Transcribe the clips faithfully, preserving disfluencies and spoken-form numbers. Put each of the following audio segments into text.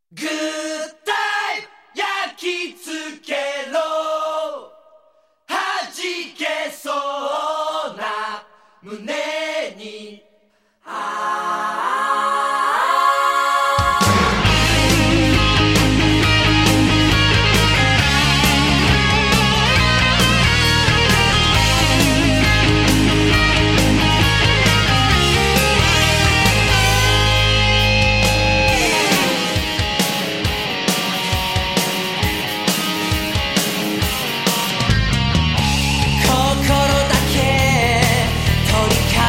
グッタイム焼き付けろ弾けそうな胸に心だけ取り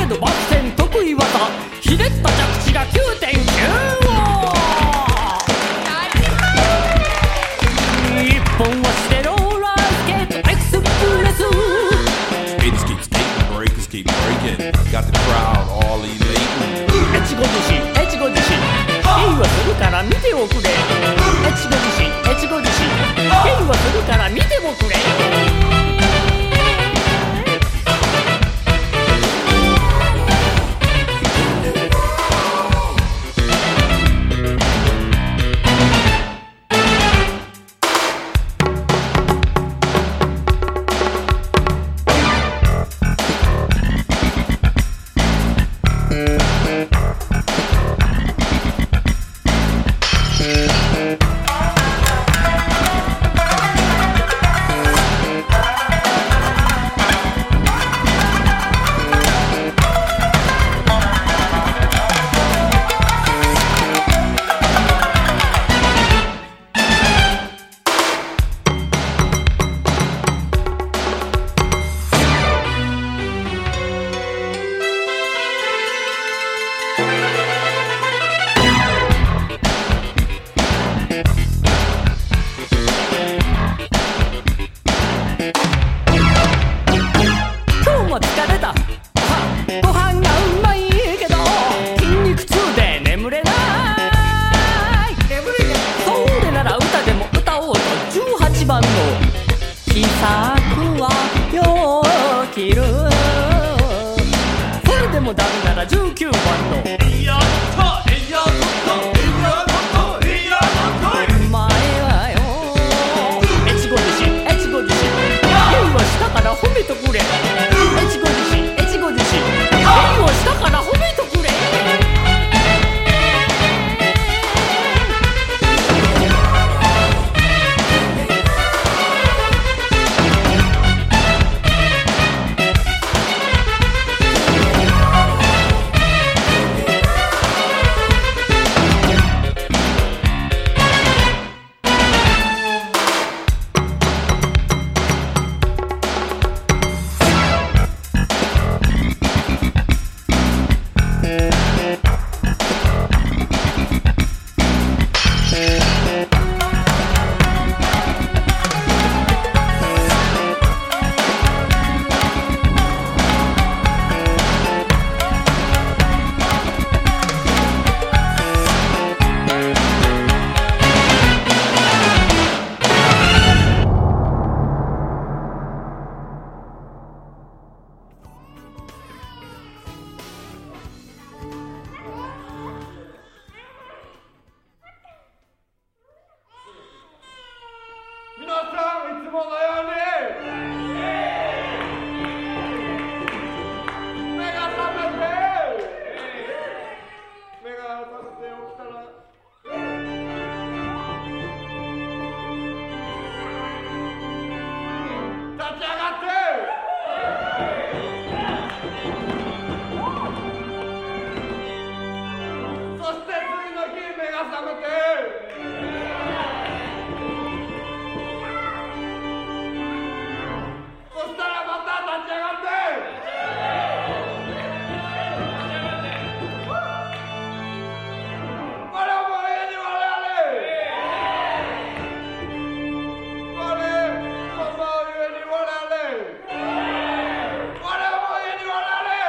ドバク転得意技ひねった着地が きゅうてんきゅう 一本足でローラースケートエクスプレス Skaters keep skating, breakers keep breaking. Got the crowd all elating. エチゴ自身エチゴ自身ゲイはするから見ておくれエチゴ自身エチゴ自身ゲイはするから見ておくれ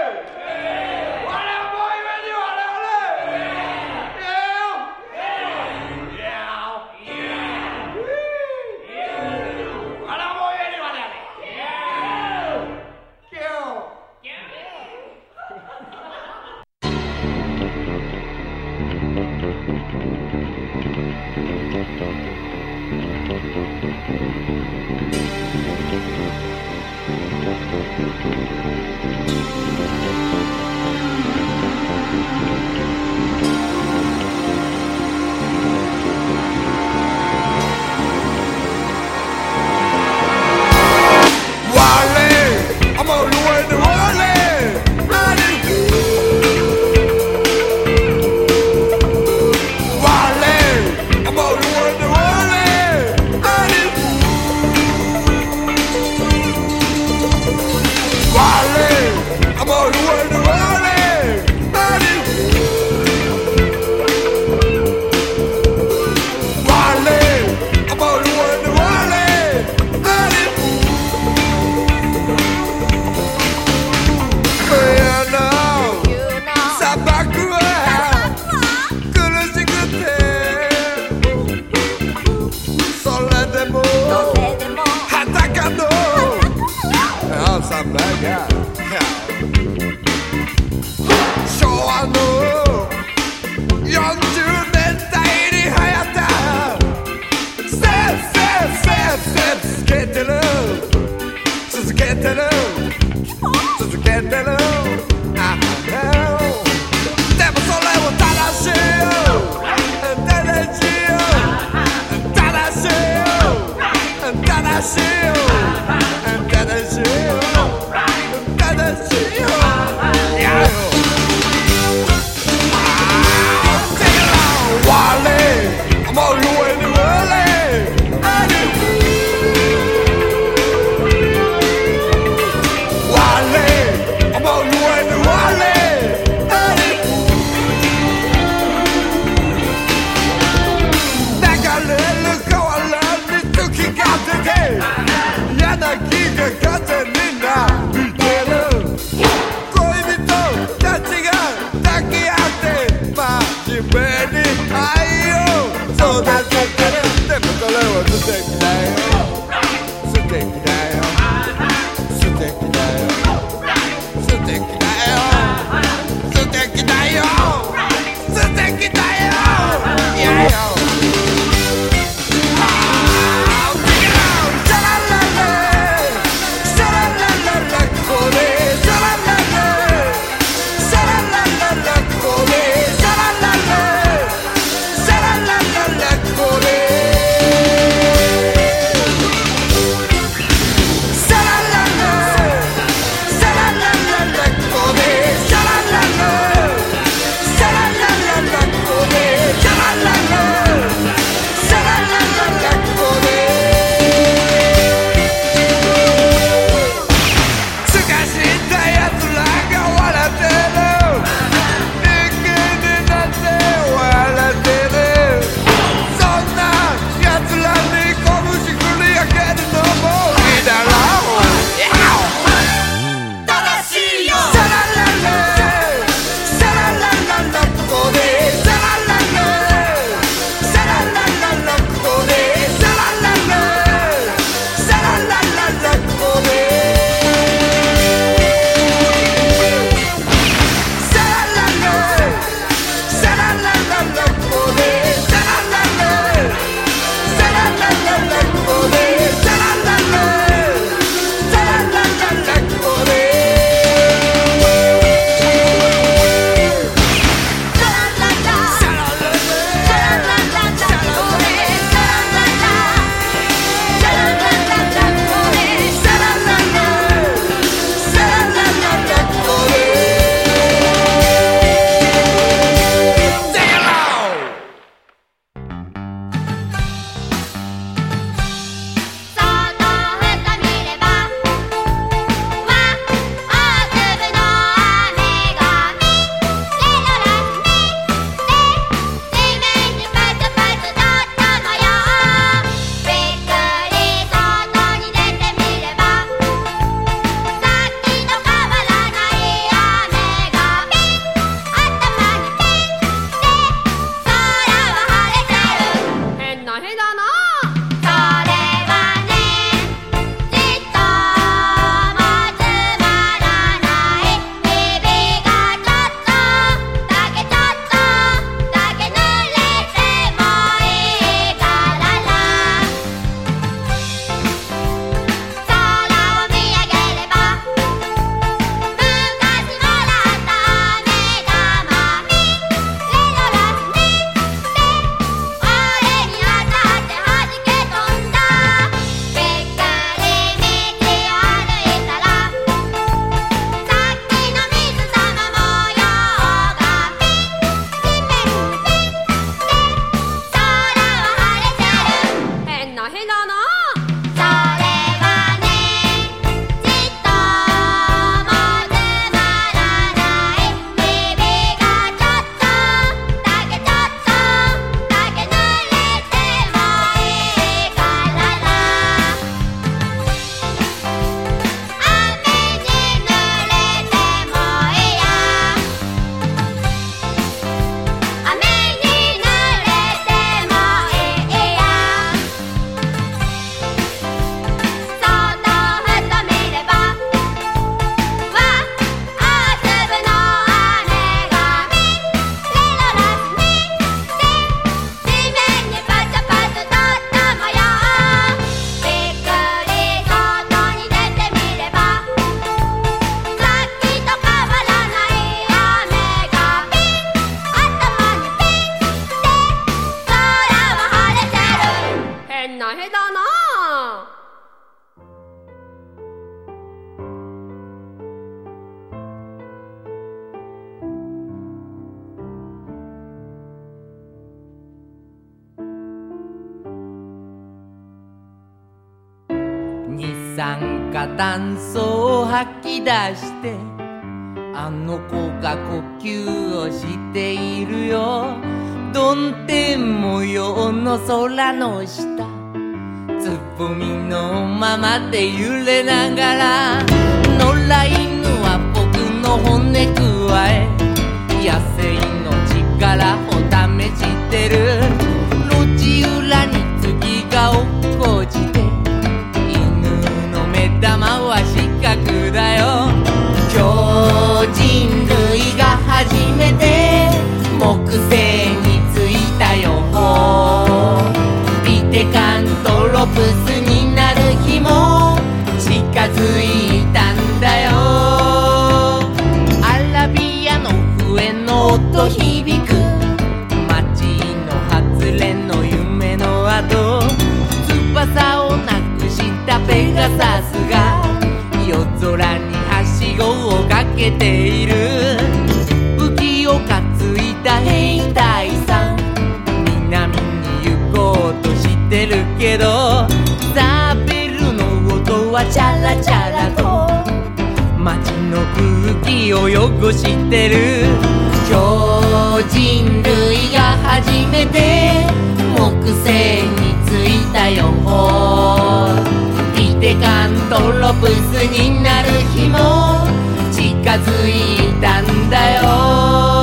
「 酸化炭素を吐き出して、あの子が呼吸をしているよ。曇天模様の空の下、つぼみのままで揺れながら、野良犬は僕の骨くわえ、野生の力を試してる。路地裏に次が落っこちて、犬の目玉は四角だよ。今日人類が初めて木星に着いたよ。ビテカントロプスになる日も近づいたんだよ。アラビアの笛の音響く、街の外れの夢の後、翼をなくしたペガサスが夜空にはしごをかけている。武器を担いだ兵隊さん、南に行こうとしてるけど、ザベルの音はチャラチャラと街の空気を汚してる。今日人類が初めて木星に着いたよ。ビテカントロプスになる日も近づいたんだよ。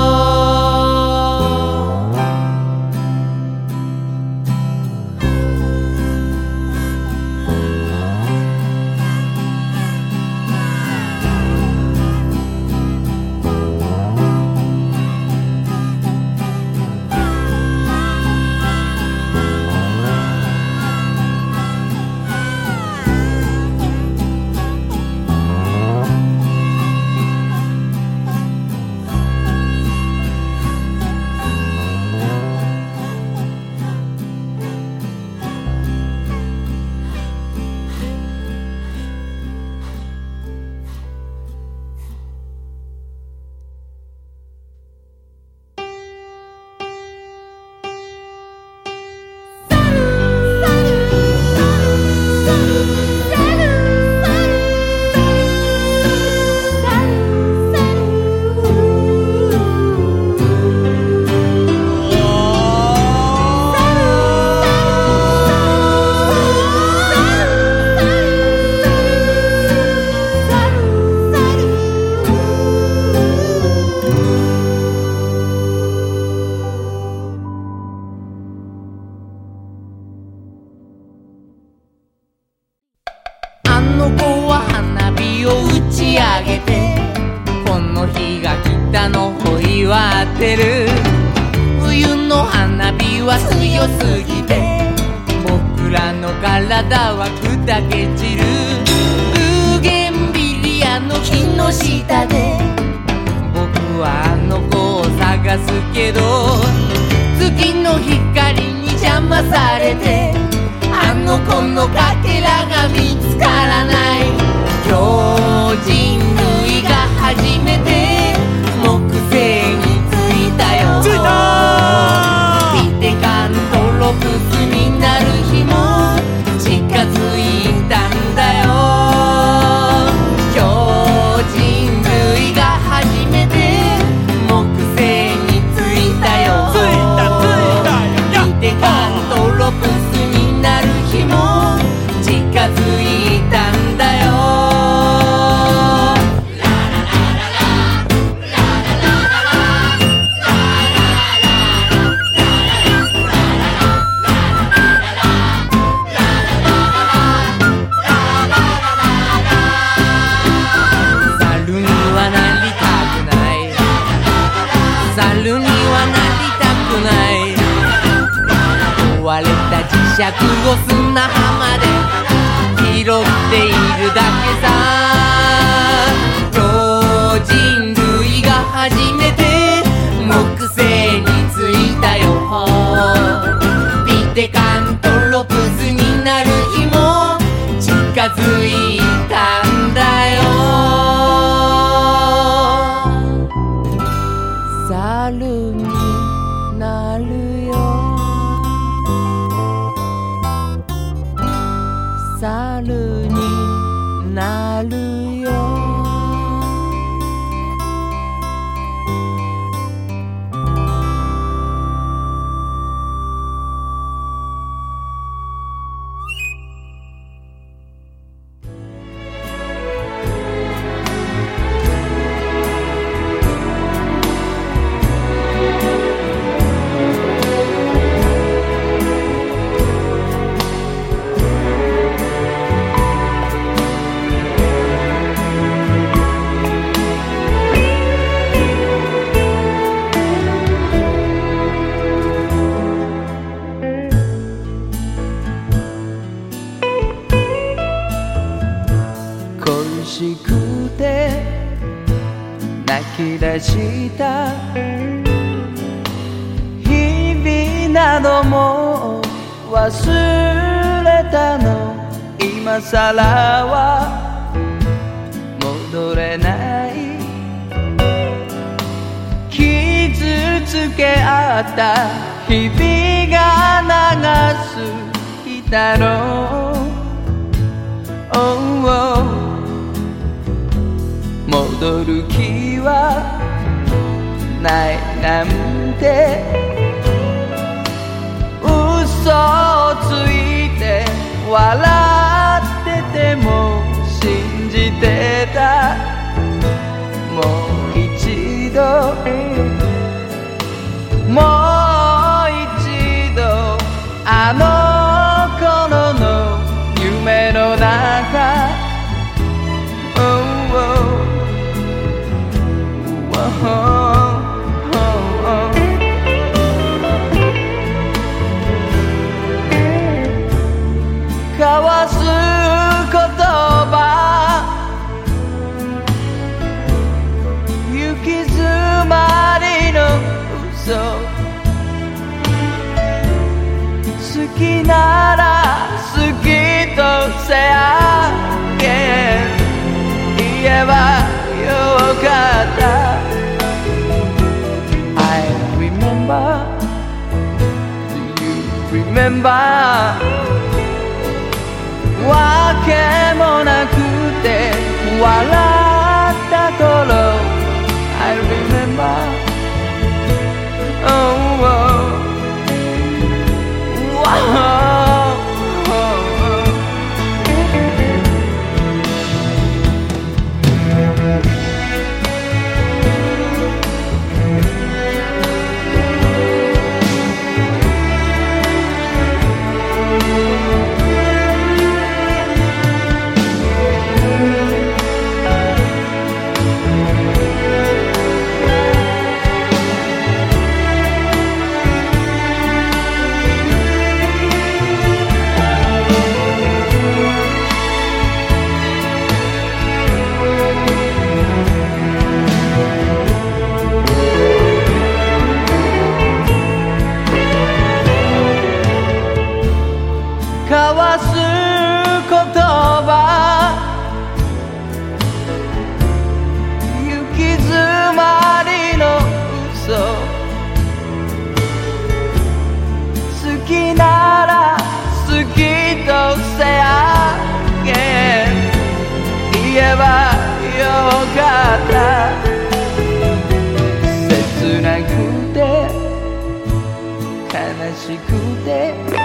冬の花火は強すぎて僕らの体は砕け散る。ブーゲンビリアの木の下で僕はあの子を探すけど、月の光に邪魔されてあの子のかけらが見つからない。今日人類が初めて木星に着いたよ。 着いたビテカントロプスになる日も近づいたんだよ。今日人類が初めて木星に着いたよ。 着いた着いたよ。 ビテカントロプスになる日も近づいたんだよ。壊れた磁石を砂浜で拾っているだけさ。今日人類が初めて木星に着いたよ。ビテカントロプスになる日も近づいたんだよ。猿になるよ。猿にした日々なども忘れたの今さらは戻れない傷つけ合った日々が長すぎたろう、oh, oh戻る気はないなんて嘘をついて笑ってても信じてたもう一度もう一度あの頃の夢の中、oh, oh交わす言葉行き詰まりの嘘好きなら好きとせやけ言えばよかった I remember Do you remember わけもなくて笑った頃 I remember oh, oh, oh. 交わす言葉行き詰まりの嘘好きなら好きとせやけ言えばよかった切なくて悲しくて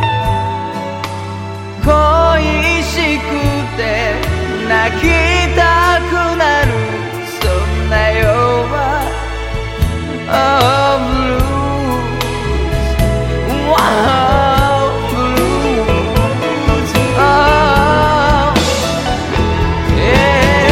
恋しくて泣きたくなるそんな夜は Oh blues Wow blues Oh yeah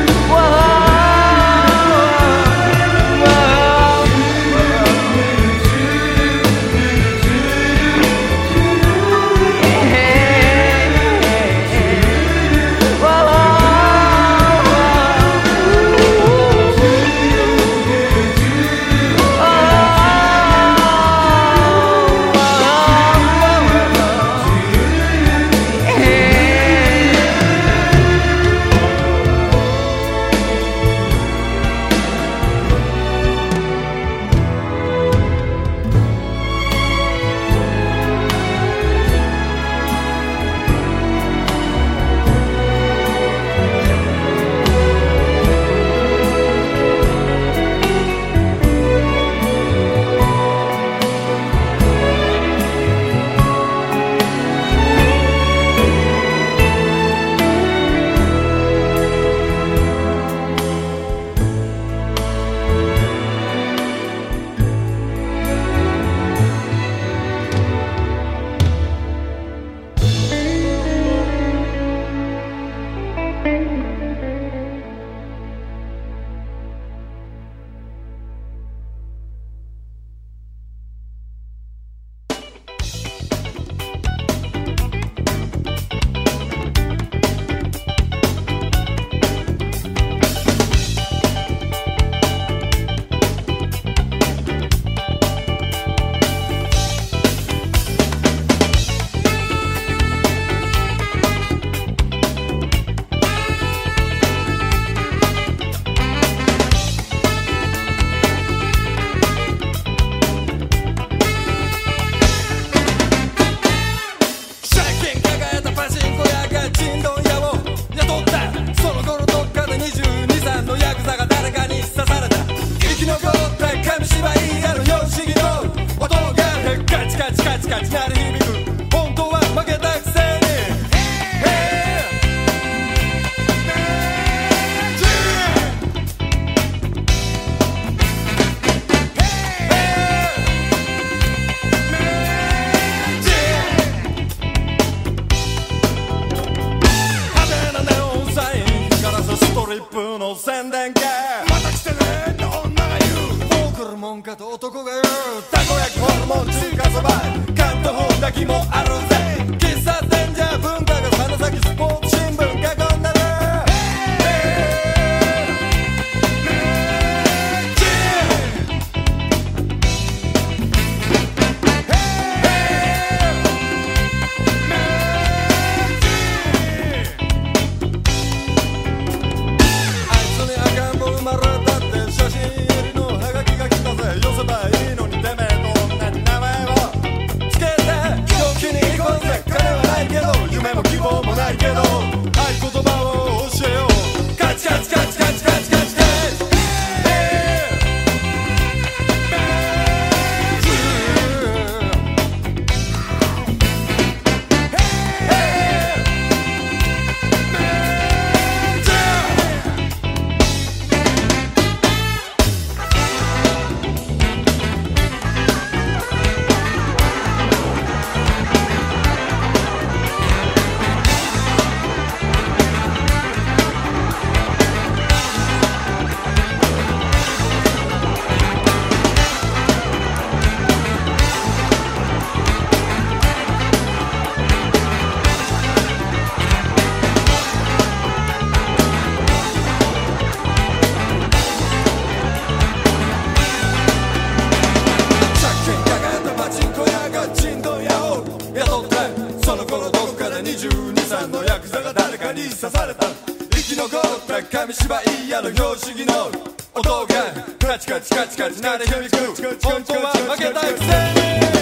Oh にじゅうにさいのヤクザが誰かに刺された。生き残った紙芝居屋の拍子木の音がカチカチカチカチ鳴り響く。本当は負けたくせ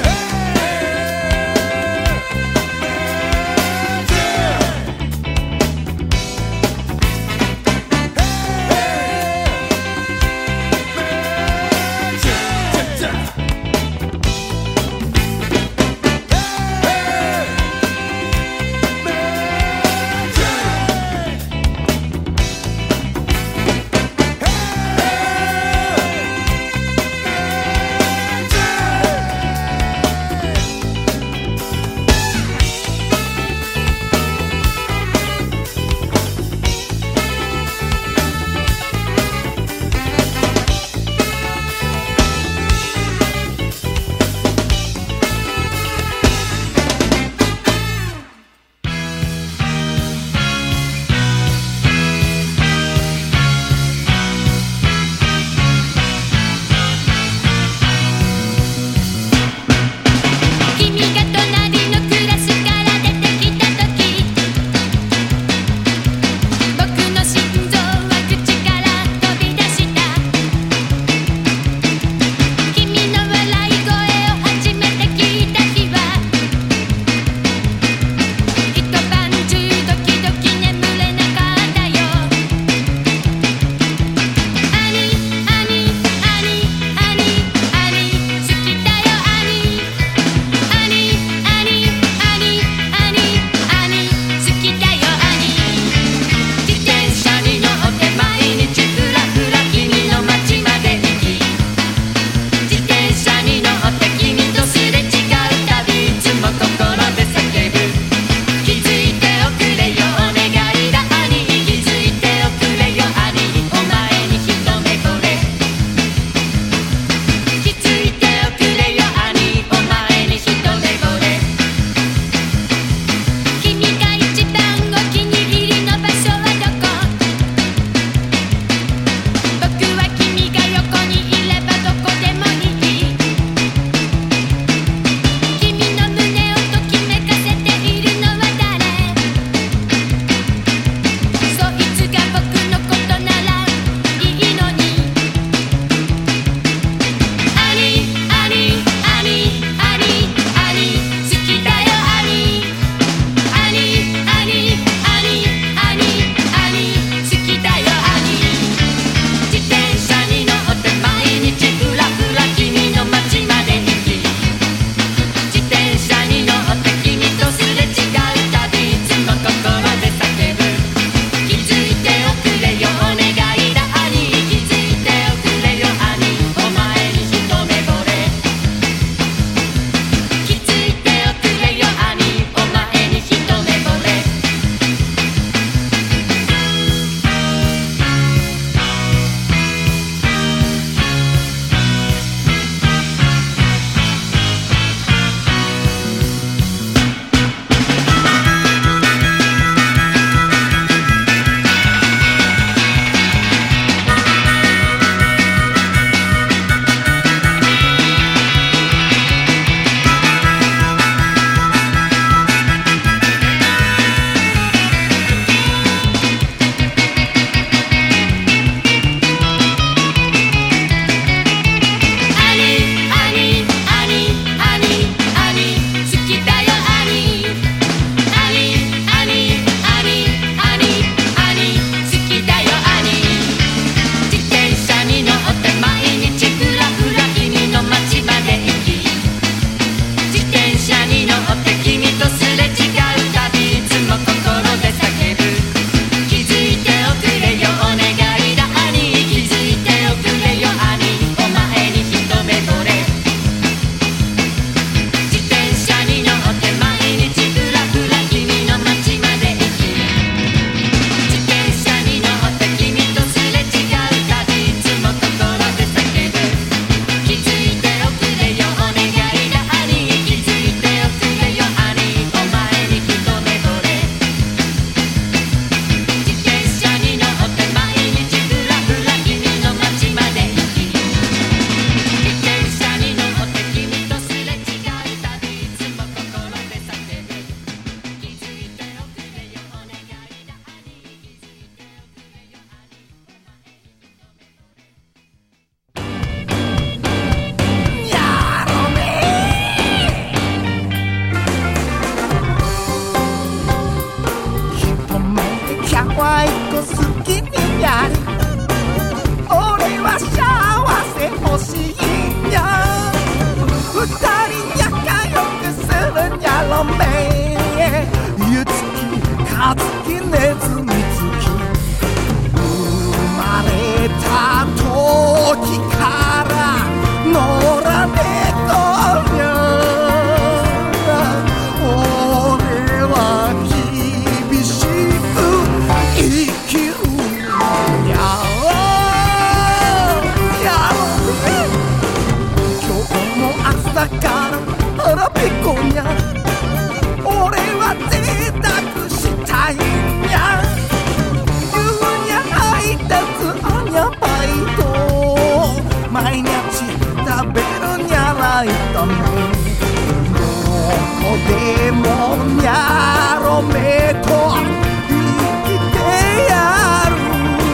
ニャロメと生きてやる。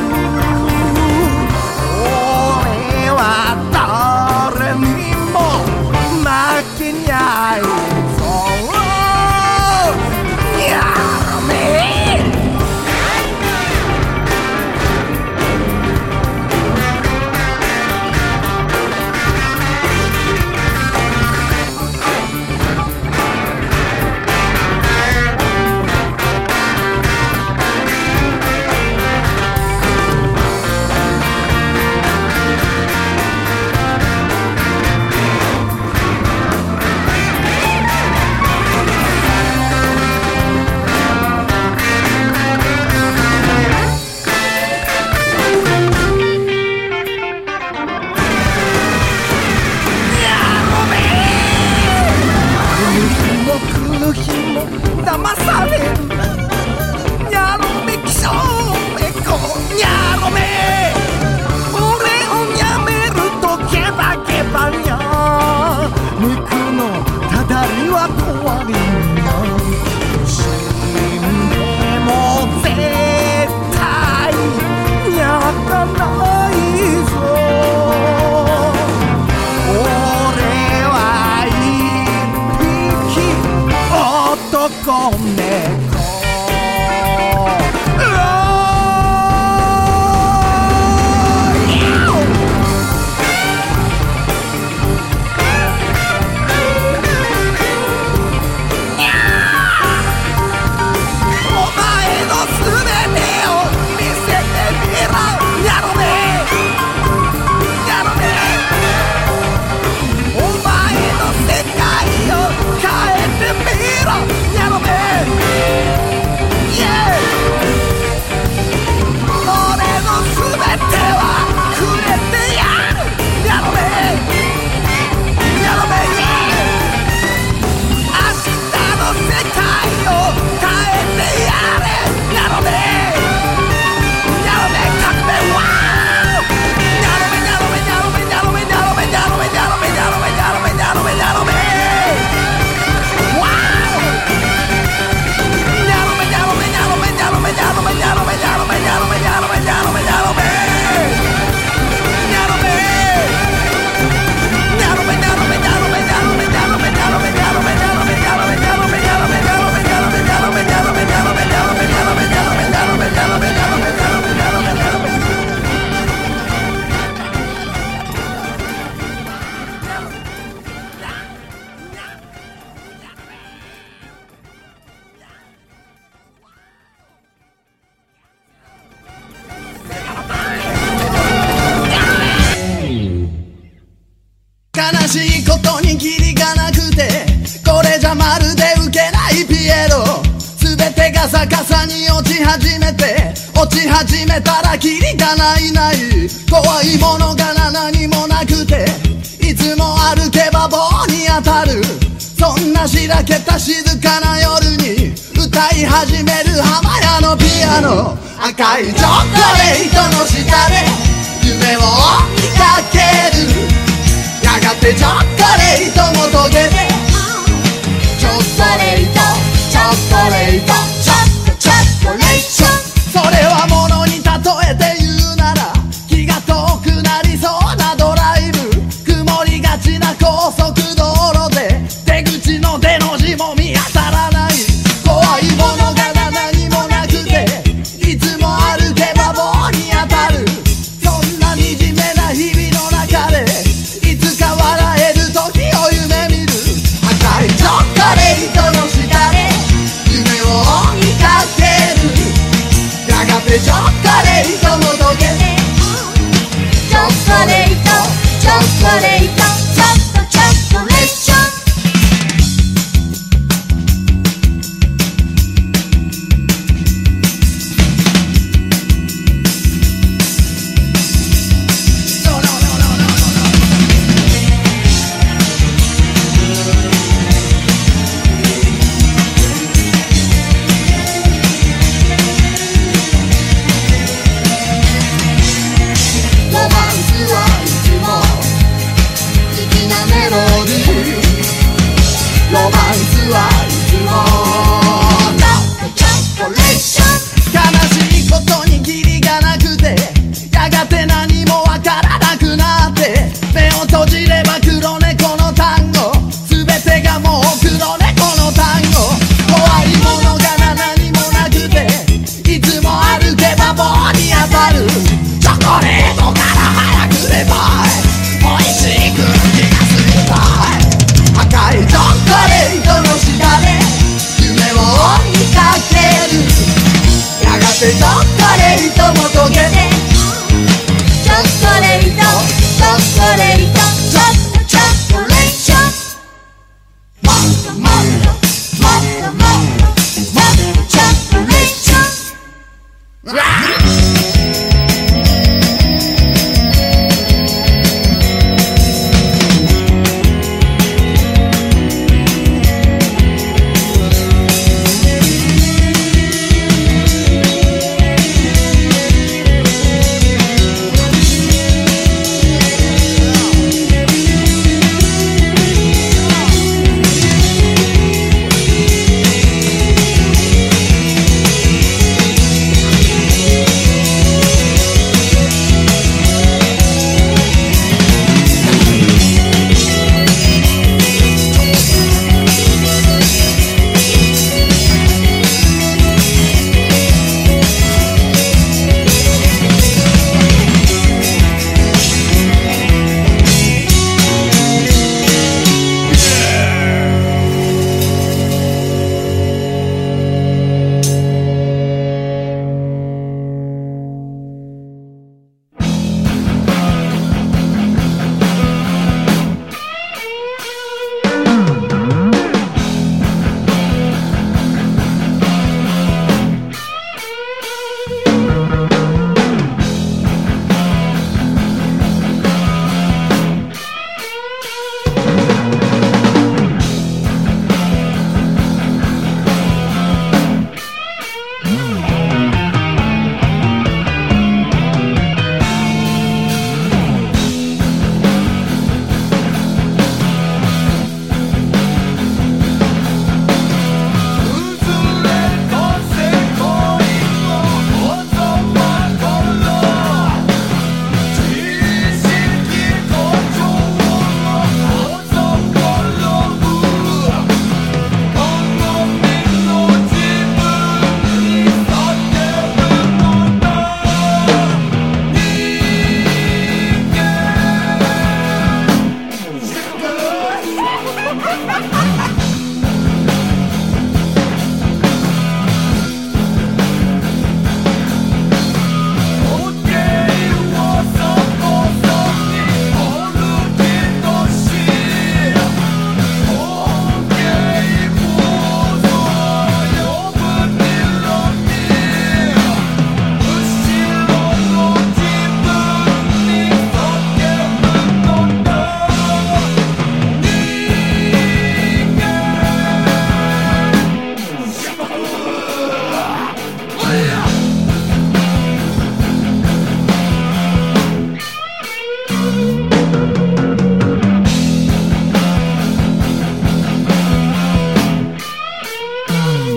俺は誰にも負けにゃいぞ。ニャロメ騙される。ニャロメ気象メコニャロメ。俺をやめるとケバケバニャ。肉のただりは怖いニャ。死んでも絶対泣かないぞ。俺は一匹男猫。 悲しいことにキリがなくて、これじゃまるでウケないピエロ。全てが逆さに落ち始めて、落ち始めたらキリがないない。怖いものが何もなくて、いつも歩けば棒に当たる。そんなしらけた静かな夜に歌い始める浜屋のピアノ。赤いチョコレートの下で夢を追いかける。やがてチョコレートも溶けて、チョコレートチョコレートチョコチョコレート。それはものに例えて言うなら、気が遠くなりそうなドライブ。曇りがちな高速道路で出口の出の字も見当たらない。怖いものが何もなくて、いつも歩けば棒に当たる。そんな惨めな日々の中で、いつか笑える時を夢見る。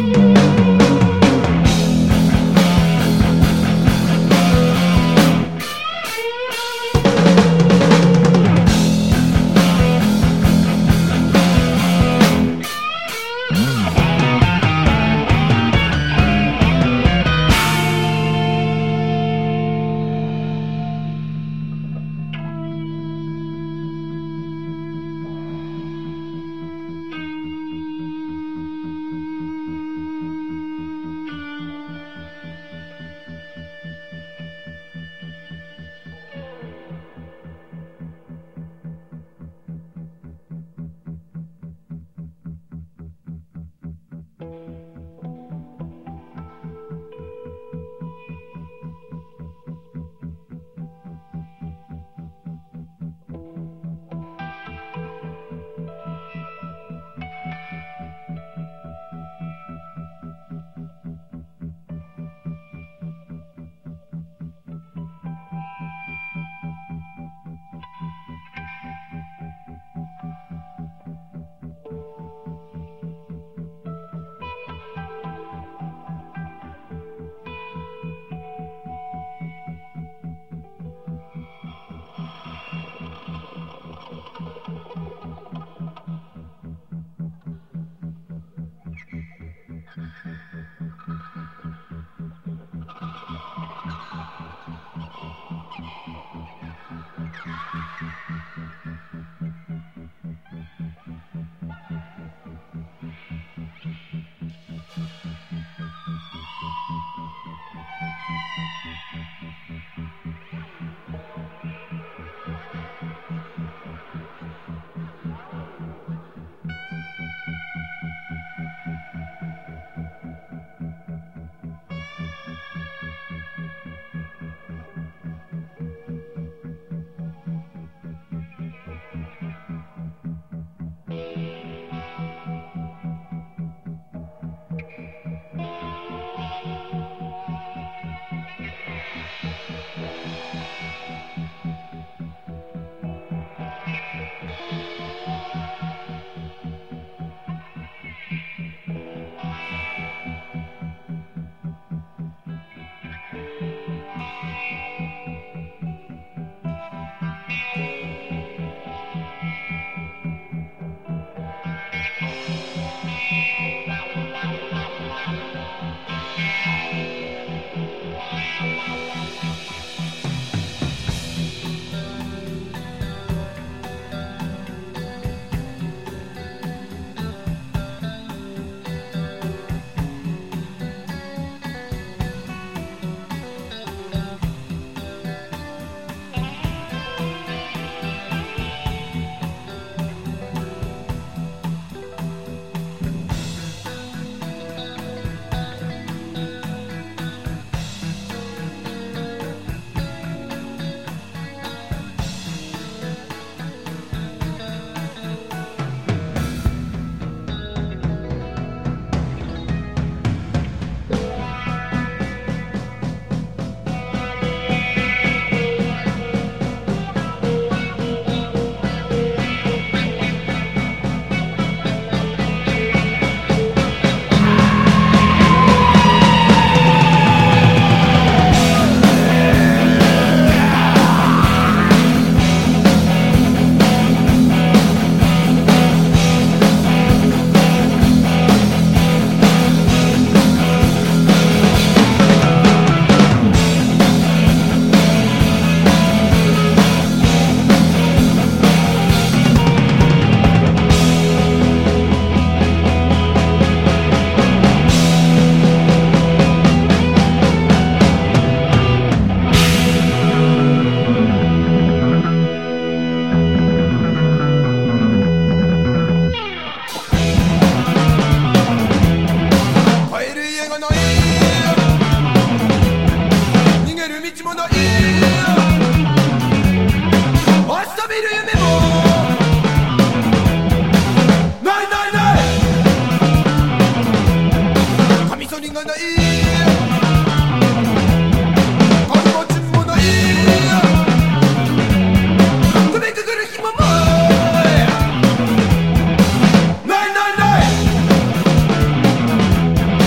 「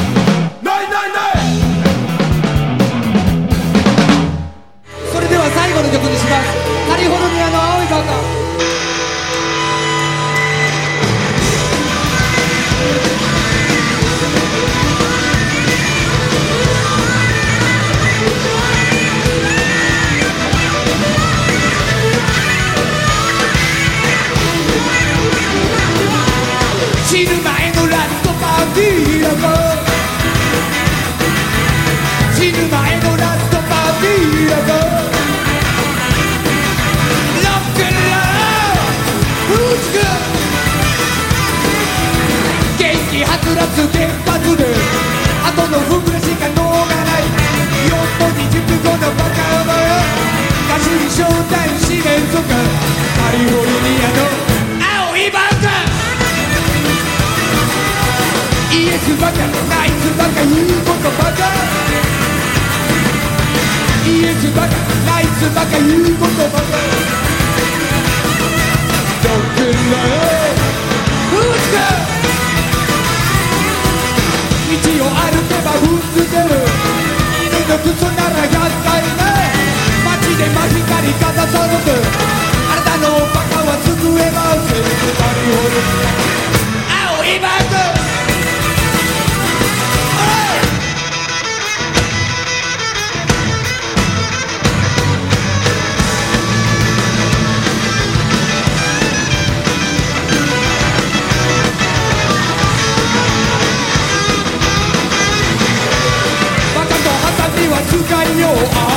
あいつバカ言うことバカイエスバカナイスバカ言うことバカどっくんだよふつか道を歩けば踏んづける犬の靴ならひゃっかいね街で真光かざされてあなたのバカは救えません青いバカ使いよう